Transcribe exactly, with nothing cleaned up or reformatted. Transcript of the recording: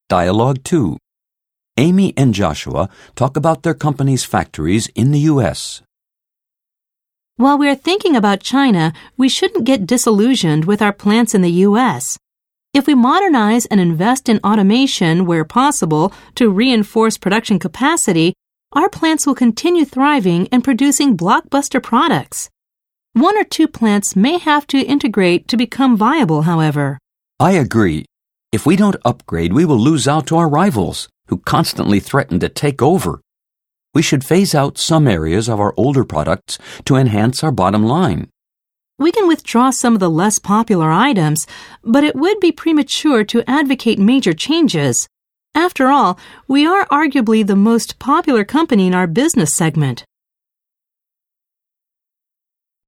Dialogue two. Amy and Joshua talk about their company's factories in the U S While we're thinking about China, we shouldn't get disillusioned with our plants in the U S If we modernize and invest in automation where possible to reinforce production capacity, our plants will continue thriving and producing blockbuster products. One or two plants may have to integrate to become viable, however. I agree. If we don't upgrade, we will lose out to our rivals, who constantly threaten to take over. We should phase out some areas of our older products to enhance our bottom line. We can withdraw some of the less popular items, but it would be premature to advocate major changes. After all, we are arguably the most popular company in our business segment.